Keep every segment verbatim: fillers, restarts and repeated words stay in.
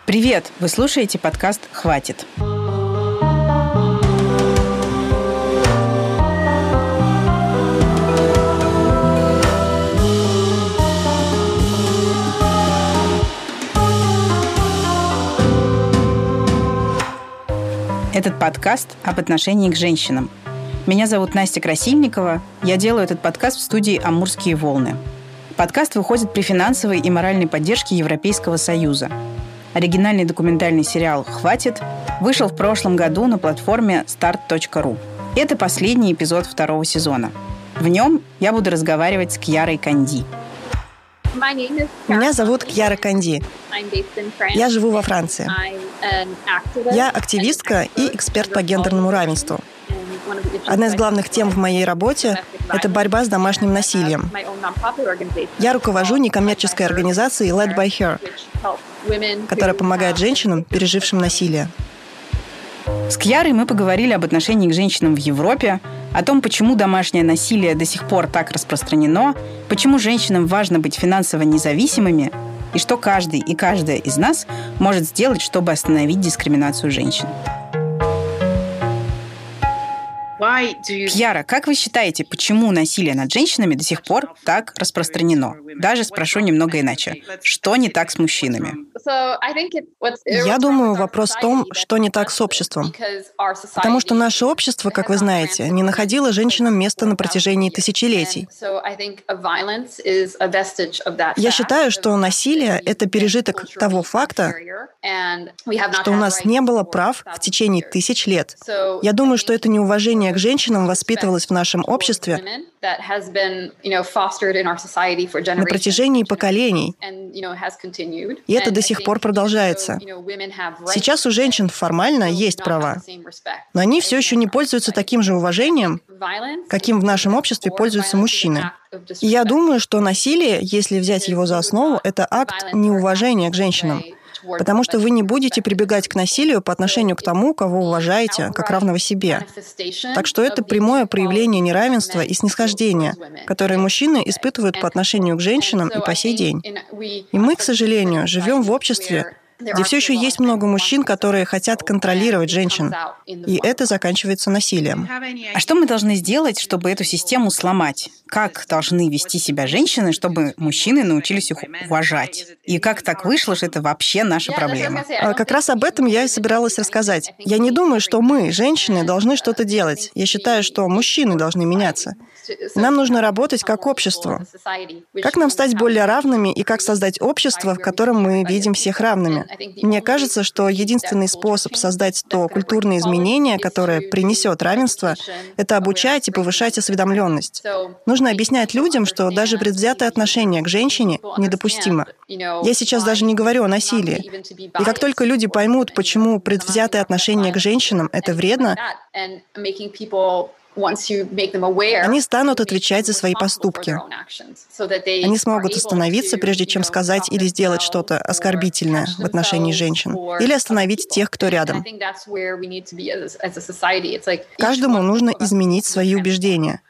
Привет! Вы слушаете подкаст «Хватит». Этот подкаст об отношении к женщинам. Меня зовут Настя Красильникова. Я делаю этот подкаст в студии «Амурские волны». Подкаст выходит при финансовой и моральной поддержке Европейского Союза. Оригинальный документальный сериал «Хватит» вышел в прошлом году на платформе старт точка ру. Это последний эпизод второго сезона. В нем я буду разговаривать с Кьярой Канди. Меня зовут Кьяра Канди. Я живу во Франции. Я активистка и эксперт по гендерному равенству. Одна из главных тем в моей работе – это борьба с домашним насилием. Я руковожу некоммерческой организацией Led by Her, которая помогает женщинам, пережившим насилие. С Кьярой мы поговорили об отношении к женщинам в Европе, о том, почему домашнее насилие до сих пор так распространено, почему женщинам важно быть финансово независимыми и что каждый и каждая из нас может сделать, чтобы остановить дискриминацию женщин. Кьяра, как вы считаете, почему насилие над женщинами до сих пор так распространено? Даже спрошу немного иначе. Что не так с мужчинами? Я думаю, вопрос в том, что не так с обществом. Потому что наше общество, как вы знаете, не находило женщинам места на протяжении тысячелетий. Я считаю, что насилие — это пережиток того факта, что у нас не было прав в течение тысяч лет. Я думаю, что это неуважение к женщинам воспитывалось в нашем обществе на протяжении поколений. И это до сих пор продолжается. Сейчас у женщин формально есть права, но они все еще не пользуются таким же уважением, каким в нашем обществе пользуются мужчины. И я думаю, что насилие, если взять его за основу, это акт неуважения к женщинам. Потому что вы не будете прибегать к насилию по отношению к тому, кого уважаете, как равного себе. Так что это прямое проявление неравенства и снисхождения, которое мужчины испытывают по отношению к женщинам и по сей день. И мы, к сожалению, живем в обществе, где все еще есть много мужчин, которые хотят контролировать женщин. И это заканчивается насилием. А что мы должны сделать, чтобы эту систему сломать? Как должны вести себя женщины, чтобы мужчины научились их уважать? И как так вышло, что это вообще наша проблема? А как раз об этом я и собиралась рассказать. Я не думаю, что мы, женщины, должны что-то делать. Я считаю, что мужчины должны меняться. Нам нужно работать как общество. Как нам стать более равными и как создать общество, в котором мы видим всех равными? Мне кажется, что единственный способ создать то культурное изменение, которое принесет равенство, это обучать и повышать осведомленность. Нужно объяснять людям, что даже предвзятое отношение к женщине недопустимо. Я сейчас даже не говорю о насилии. И как только люди поймут, почему предвзятое отношение к женщинам — это вредно, они станут отвечать за свои поступки. Они смогут остановиться, прежде чем сказать или сделать что-то оскорбительное в отношении женщин, или остановить тех, кто рядом. Каждому нужно изменить свои убеждения.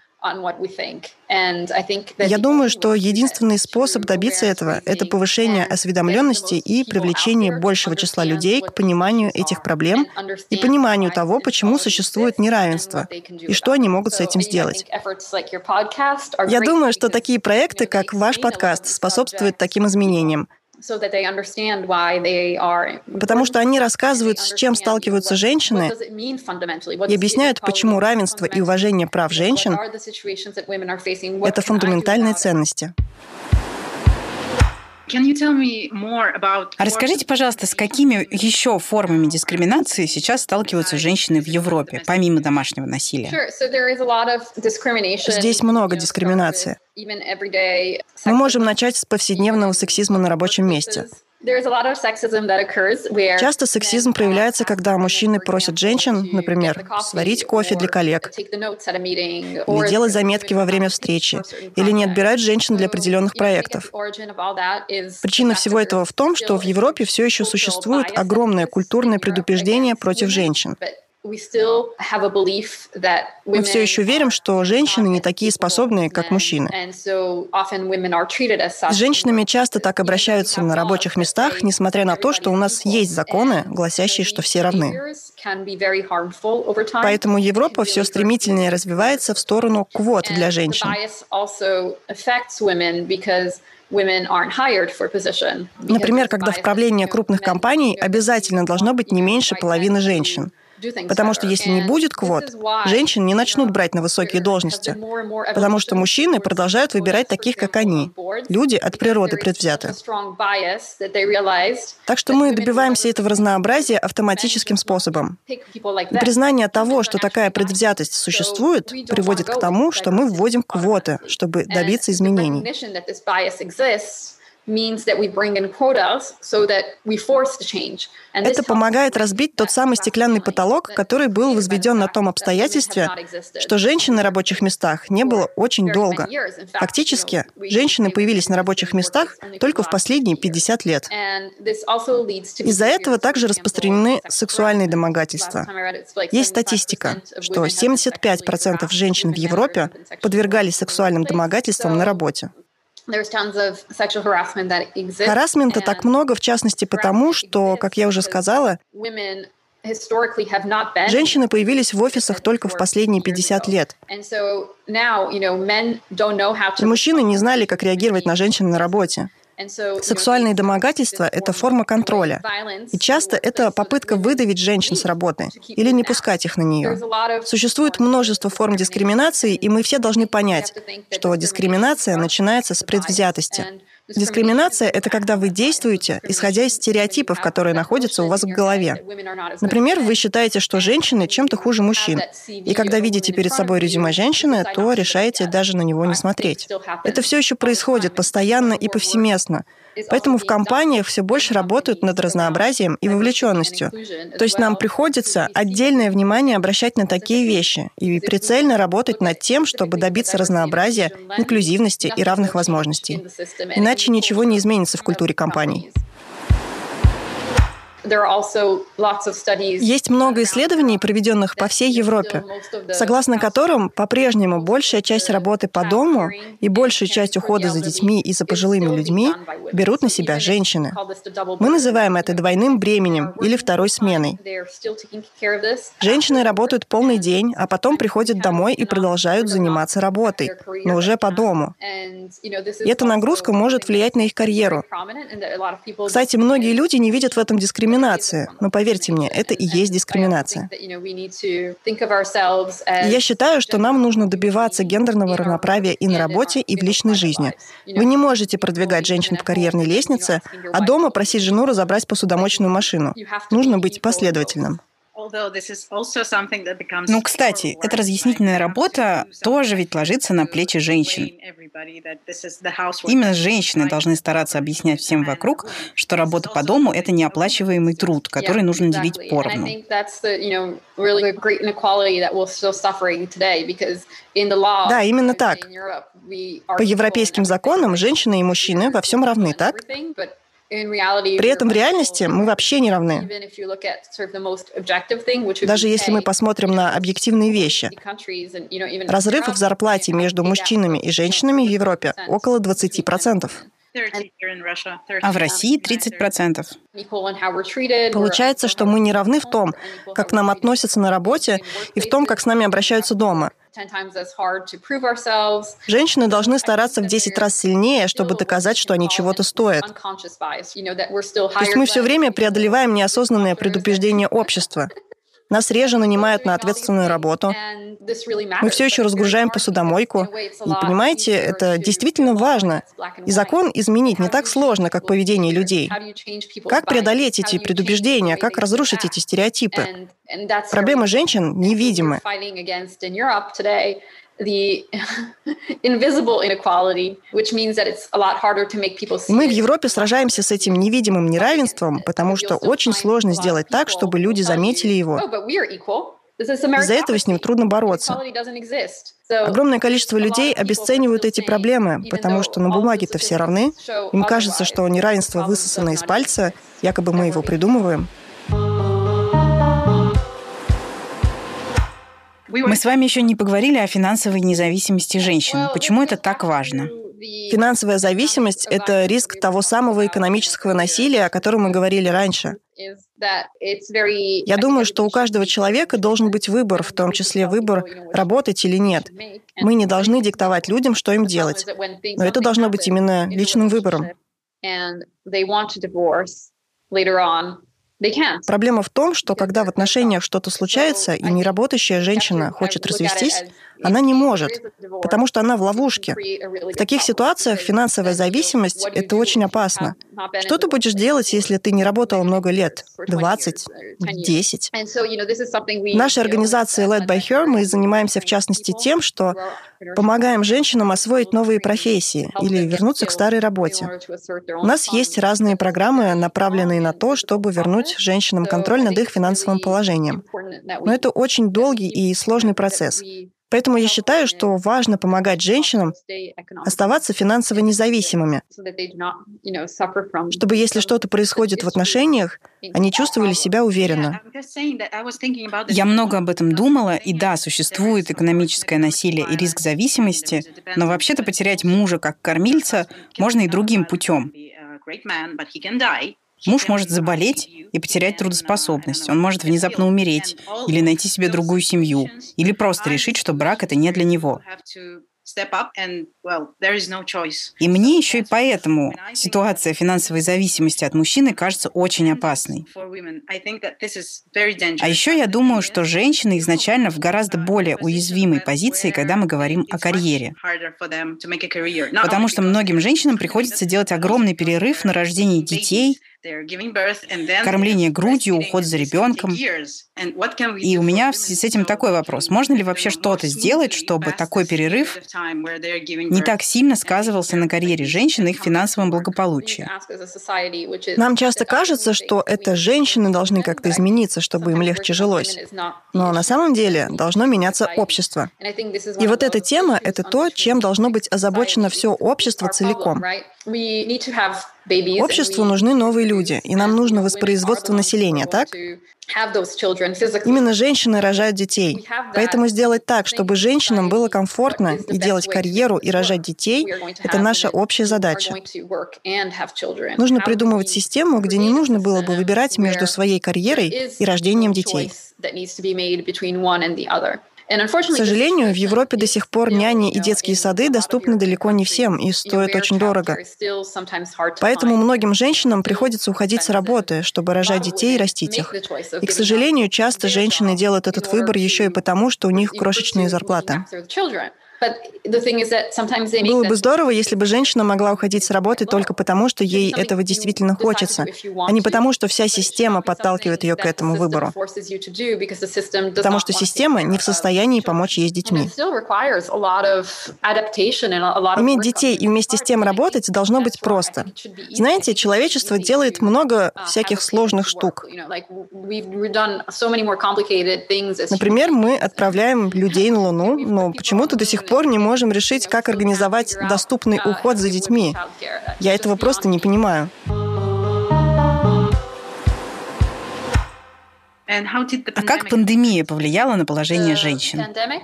Я думаю, что единственный способ добиться этого — это повышение осведомленности и привлечение большего числа людей к пониманию этих проблем и пониманию того, почему существует неравенство и что они могут с этим сделать. Я думаю, что такие проекты, как ваш подкаст, способствуют таким изменениям. Потому что они рассказывают, с чем сталкиваются женщины, и объясняют, почему равенство и уважение прав женщин — это фундаментальные ценности. А расскажите, пожалуйста, с какими еще формами дискриминации сейчас сталкиваются женщины в Европе, помимо домашнего насилия? Здесь много дискриминации. Мы можем начать с повседневного сексизма на рабочем месте. Часто сексизм проявляется, когда мужчины просят женщин, например, сварить кофе для коллег, или делать заметки во время встречи, или не отбирать женщин для определенных проектов. Причина всего этого в том, что в Европе все еще существует огромное культурное предубеждение против женщин. Мы все еще верим, что женщины не такие способные, как мужчины. С женщинами часто так обращаются на рабочих местах, несмотря на то, что у нас есть законы, гласящие, что все равны. Поэтому Европа все стремительнее развивается в сторону квот для женщин. Например, когда в правлении крупных компаний обязательно должно быть не меньше половины женщин. Потому что если не будет квот, женщин не начнут брать на высокие должности, потому что мужчины продолжают выбирать таких, как они. Люди от природы предвзяты. Так что мы добиваемся этого разнообразия автоматическим способом. И признание того, что такая предвзятость существует, приводит к тому, что мы вводим квоты, чтобы добиться изменений. Это помогает разбить тот самый стеклянный потолок, который был возведен на том обстоятельстве, что женщин на рабочих местах не было очень долго. Фактически, женщины появились на рабочих местах только в последние пятьдесят лет. Из-за этого также распространены сексуальные домогательства. Есть статистика, что семьдесят пять процентов женщин в Европе подвергались сексуальным домогательствам на работе. Харассмента так много, в частности, потому, что, как я уже сказала, женщины появились в офисах только в последние пятьдесят лет. И мужчины не знали, как реагировать на женщин на работе. Сексуальные домогательства – это форма контроля. И часто это попытка выдавить женщин с работы или не пускать их на нее. Существует множество форм дискриминации, и мы все должны понять, что дискриминация начинается с предвзятости. Дискриминация – это когда вы действуете, исходя из стереотипов, которые находятся у вас в голове. Например, вы считаете, что женщины чем-то хуже мужчин. И когда видите перед собой резюме женщины, то решаете даже на него не смотреть. Это все еще происходит постоянно и повсеместно. Поэтому в компаниях все больше работают над разнообразием и вовлеченностью. То есть нам приходится отдельное внимание обращать на такие вещи и прицельно работать над тем, чтобы добиться разнообразия, инклюзивности и равных возможностей. Иначе ничего не изменится в культуре компаний. Есть много исследований, проведенных по всей Европе, согласно которым по-прежнему большая часть работы по дому и большая часть ухода за детьми и за пожилыми людьми берут на себя женщины. Мы называем это двойным бременем или второй сменой. Женщины работают полный день, а потом приходят домой и продолжают заниматься работой, но уже по дому. И эта нагрузка может влиять на их карьеру. Кстати, многие люди не видят в этом дискриминации. Но поверьте мне, это и есть дискриминация. И я считаю, что нам нужно добиваться гендерного равноправия и на работе, и в личной жизни. Вы не можете продвигать женщин по карьерной лестнице, а дома просить жену разобрать посудомоечную машину. Нужно быть последовательным. Ну, кстати, эта разъяснительная работа тоже ведь ложится на плечи женщин. Именно женщины должны стараться объяснять всем вокруг, что работа по дому – это неоплачиваемый труд, который нужно делить поровну. Да, именно так. По европейским законам женщины и мужчины во всем равны, так? При этом в реальности мы вообще не равны. Даже если мы посмотрим на объективные вещи. Разрыв в зарплате между мужчинами и женщинами в Европе около двадцать процентов. А в России тридцать процентов. Получается, что мы не равны в том, как к нам относятся на работе, и в том, как с нами обращаются дома. Женщины должны стараться в десять раз сильнее, чтобы доказать, что они чего-то стоят. То есть мы все время преодолеваем неосознанное предубеждение общества. Нас реже нанимают на ответственную работу. Мы все еще разгружаем посудомойку. И, понимаете, это действительно важно. И закон изменить не так сложно, как поведение людей. Как преодолеть эти предубеждения, как разрушить эти стереотипы? Проблемы женщин невидимы. Мы в Европе сражаемся с этим невидимым неравенством, потому что очень сложно сделать так, чтобы люди заметили его. Из-за этого с ним трудно бороться. Огромное количество людей обесценивают эти проблемы, потому что на бумаге-то все равны. Им кажется, что неравенство высосано из пальца, якобы мы его придумываем. Мы с вами еще не поговорили о финансовой независимости женщин. Почему это так важно? Финансовая зависимость – это риск того самого экономического насилия, о котором мы говорили раньше. Я думаю, что у каждого человека должен быть выбор, в том числе выбор, работать или нет. Мы не должны диктовать людям, что им делать. Но это должно быть именно личным выбором. Проблема в том, что когда в отношениях что-то случается, и неработающая женщина хочет развестись, она не может, потому что она в ловушке. В таких ситуациях финансовая зависимость – это очень опасно. Что ты будешь делать, если ты не работала много лет? двадцать? десять? В нашей организации Led by Her мы занимаемся в частности тем, что помогаем женщинам освоить новые профессии или вернуться к старой работе. У нас есть разные программы, направленные на то, чтобы вернуть женщинам контроль над их финансовым положением. Но это очень долгий и сложный процесс. Поэтому я считаю, что важно помогать женщинам оставаться финансово независимыми, чтобы, если что-то происходит в отношениях, они чувствовали себя уверенно. Я много об этом думала, и да, существует экономическое насилие и риск зависимости, но вообще-то потерять мужа как кормильца можно и другим путем. Муж может заболеть и потерять трудоспособность. Он может внезапно умереть или найти себе другую семью, или просто решить, что брак – это не для него. И мне еще и поэтому ситуация финансовой зависимости от мужчины кажется очень опасной. А еще я думаю, что женщины изначально в гораздо более уязвимой позиции, когда мы говорим о карьере. Потому что многим женщинам приходится делать огромный перерыв на рождение детей, кормление грудью, уход за ребенком. И у меня в связи с этим такой вопрос. Можно ли вообще что-то сделать, чтобы такой перерыв не так сильно сказывался на карьере женщин и их финансовом благополучии? Нам часто кажется, что это женщины должны как-то измениться, чтобы им легче жилось. Но на самом деле должно меняться общество. И вот эта тема — это то, чем должно быть озабочено все общество целиком. Обществу нужны новые люди, и нам нужно воспроизводство населения, так? Именно женщины рожают детей. Поэтому сделать так, чтобы женщинам было комфортно и делать карьеру, и рожать детей — это наша общая задача. Нужно придумывать систему, где не нужно было бы выбирать между своей карьерой и рождением детей. К сожалению, в Европе до сих пор няни и детские сады доступны далеко не всем и стоят очень дорого. Поэтому многим женщинам приходится уходить с работы, чтобы рожать детей и растить их. И, к сожалению, часто женщины делают этот выбор еще и потому, что у них крошечные зарплаты. Было бы здорово, если бы женщина могла уходить с работы только потому, что ей этого действительно хочется, а не потому, что вся система подталкивает ее к этому выбору. Потому что система не в состоянии помочь ей с детьми. Иметь детей и вместе с тем работать должно быть просто. Знаете, человечество делает много всяких сложных штук. Например, мы отправляем людей на Луну, но почему-то до сих пор не можем решить, как организовать доступный уход за детьми. Я этого просто не понимаю. А как пандемия повлияла на положение женщин?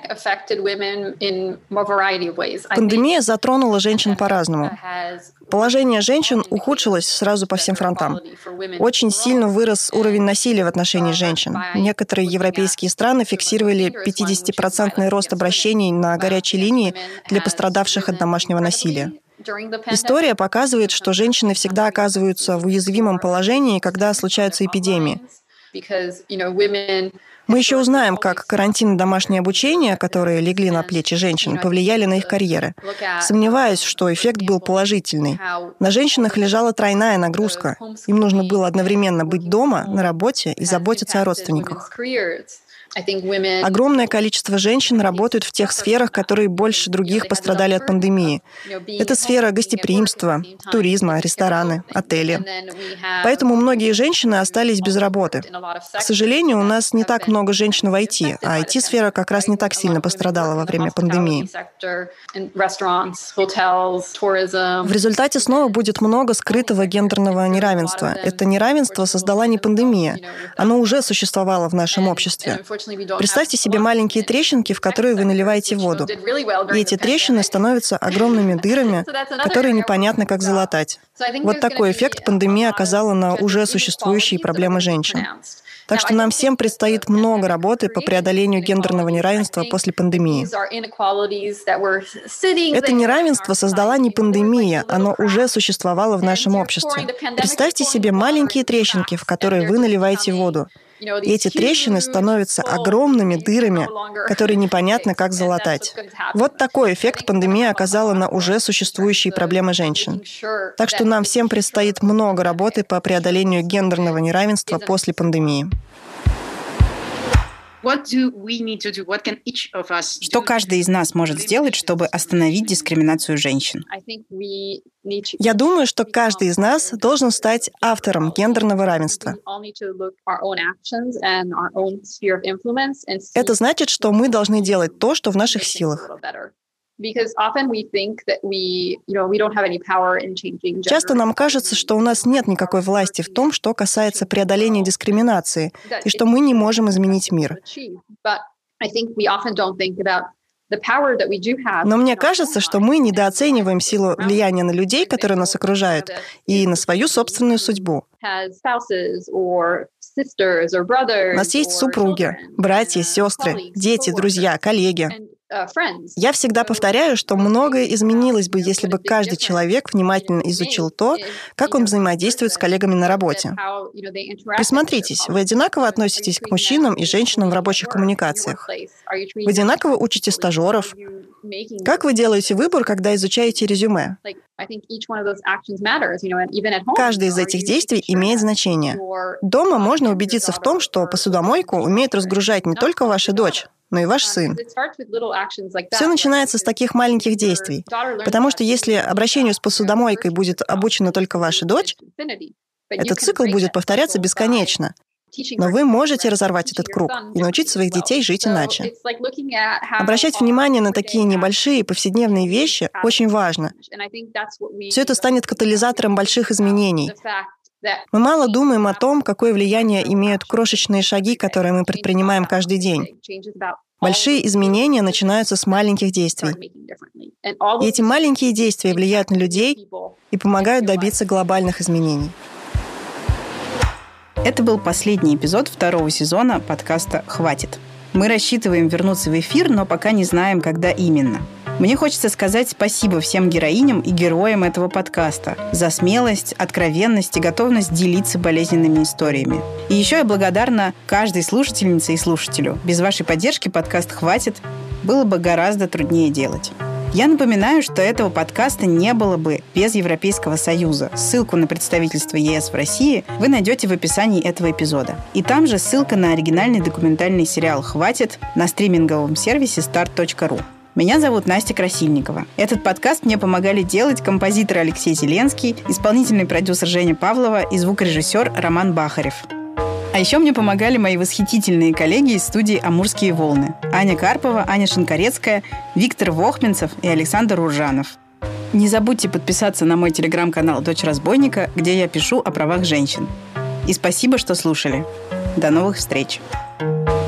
Пандемия затронула женщин по-разному. Положение женщин ухудшилось сразу по всем фронтам. Очень сильно вырос уровень насилия в отношении женщин. Некоторые европейские страны фиксировали пятидесятипроцентный рост обращений на горячей линии для пострадавших от домашнего насилия. История показывает, что женщины всегда оказываются в уязвимом положении, когда случаются эпидемии. Мы еще узнаем, как карантин и домашнее обучение, которые легли на плечи женщин, повлияли на их карьеры. Сомневаюсь, что эффект был положительный. На женщинах лежала тройная нагрузка. Им нужно было одновременно быть дома, на работе и заботиться о родственниках. Огромное количество женщин работают в тех сферах, которые больше других пострадали от пандемии. Это сфера гостеприимства, туризма, рестораны, отели. Поэтому многие женщины остались без работы. К сожалению, у нас не так много женщин в ай ти, а ай ти-сфера как раз не так сильно пострадала во время пандемии. В результате снова будет много скрытого гендерного неравенства. Это неравенство создала не пандемия. Оно уже существовало в нашем обществе. Представьте себе маленькие трещинки, в которые вы наливаете воду. И эти трещины становятся огромными дырами, которые непонятно как залатать. Вот такой эффект пандемия оказала на уже существующие проблемы женщин. Так что нам всем предстоит много работы по преодолению гендерного неравенства после пандемии. Это неравенство создала не пандемия, оно уже существовало в нашем обществе. Представьте себе маленькие трещинки, в которые вы наливаете воду. И эти трещины становятся огромными дырами, которые непонятно как залатать. Вот такой эффект пандемия оказала на уже существующие проблемы женщин. Так что нам всем предстоит много работы по преодолению гендерного неравенства после пандемии. Что каждый из нас может сделать, чтобы остановить дискриминацию женщин? Я думаю, что каждый из нас должен стать автором гендерного равенства. Это значит, что мы должны делать то, что в наших силах. Часто нам кажется, что у нас нет никакой власти в том, что касается преодоления дискриминации, и что мы не можем изменить мир. Но мне кажется, что мы недооцениваем силу влияния на людей, которые нас окружают, и на свою собственную судьбу. У нас есть супруги, братья, сестры, дети, друзья, коллеги. Я всегда повторяю, что многое изменилось бы, если бы каждый человек внимательно изучил то, как он взаимодействует с коллегами на работе. Присмотритесь, вы одинаково относитесь к мужчинам и женщинам в рабочих коммуникациях? Вы одинаково учите стажеров? Как вы делаете выбор, когда изучаете резюме? Каждое из этих действий имеет значение. Дома можно убедиться в том, что посудомойку умеет разгружать не только ваша дочь, но и ваш сын. Все начинается с таких маленьких действий, потому что если обращению с посудомойкой будет обучена только ваша дочь, этот цикл будет повторяться бесконечно. Но вы можете разорвать этот круг и научить своих детей жить иначе. Обращать внимание на такие небольшие повседневные вещи очень важно. Все это станет катализатором больших изменений. Мы мало думаем о том, какое влияние имеют крошечные шаги, которые мы предпринимаем каждый день. Большие изменения начинаются с маленьких действий. И эти маленькие действия влияют на людей и помогают добиться глобальных изменений. Это был последний эпизод второго сезона подкаста «Хватит». Мы рассчитываем вернуться в эфир, но пока не знаем, когда именно. Мне хочется сказать спасибо всем героиням и героям этого подкаста за смелость, откровенность и готовность делиться болезненными историями. И еще я благодарна каждой слушательнице и слушателю. Без вашей поддержки подкаст «Хватит» было бы гораздо труднее делать. Я напоминаю, что этого подкаста не было бы без Европейского Союза. Ссылку на представительство ЕС в России вы найдете в описании этого эпизода. И там же ссылка на оригинальный документальный сериал «Хватит» на стриминговом сервисе старт точка ру. Меня зовут Настя Красильникова. Этот подкаст мне помогали делать композитор Алексей Зеленский, исполнительный продюсер Женя Павлова и звукорежиссер Роман Бахарев. А еще мне помогали мои восхитительные коллеги из студии «Амурские волны». Аня Карпова, Аня Шинкарецкая, Виктор Вохменцев и Александр Уржанов. Не забудьте подписаться на мой телеграм-канал «Дочь разбойника», где я пишу о правах женщин. И спасибо, что слушали. До новых встреч!